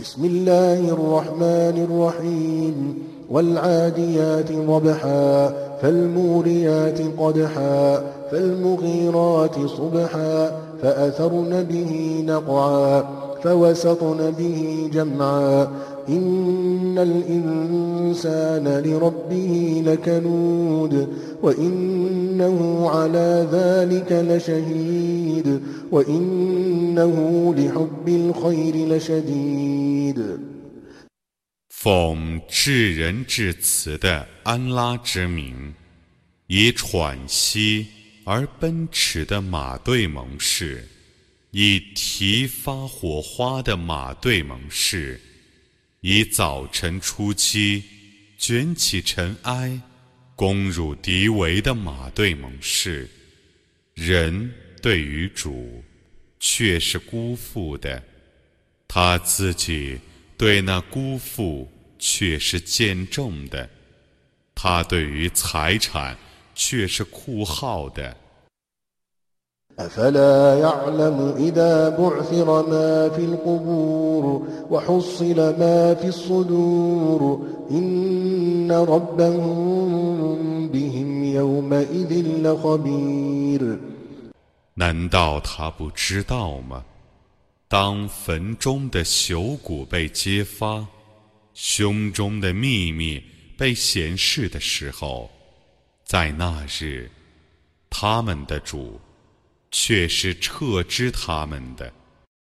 بسم الله الرحمن الرحيم والعاديات ضبحا فالموريات قدحا فالمغيرات صبحا فأثرن به نقعا فوسطن به جمعا إن الإنسان لربه لكنود وإنه على ذلك لشهيد وإنه لحب الخير لشديد 奉至仁至慈的安拉之名，以喘息而奔驰的马队盟誓，以提发火花的马队盟誓，以早晨初期卷起尘埃攻入敌围的马队盟誓。人对于主却是辜负的，他自己对那辜负却是见重的，他对于财产却是酷好的。 أفلا يعلم إذا بعثر ما في القبور وحصل ما في الصدور إن ربهم بهم يومئذ لخبير 难道他不知道吗？当坟中的朽骨被揭发，胸中的秘密被显示的时候，在那日，他们的主却是撤知他们的。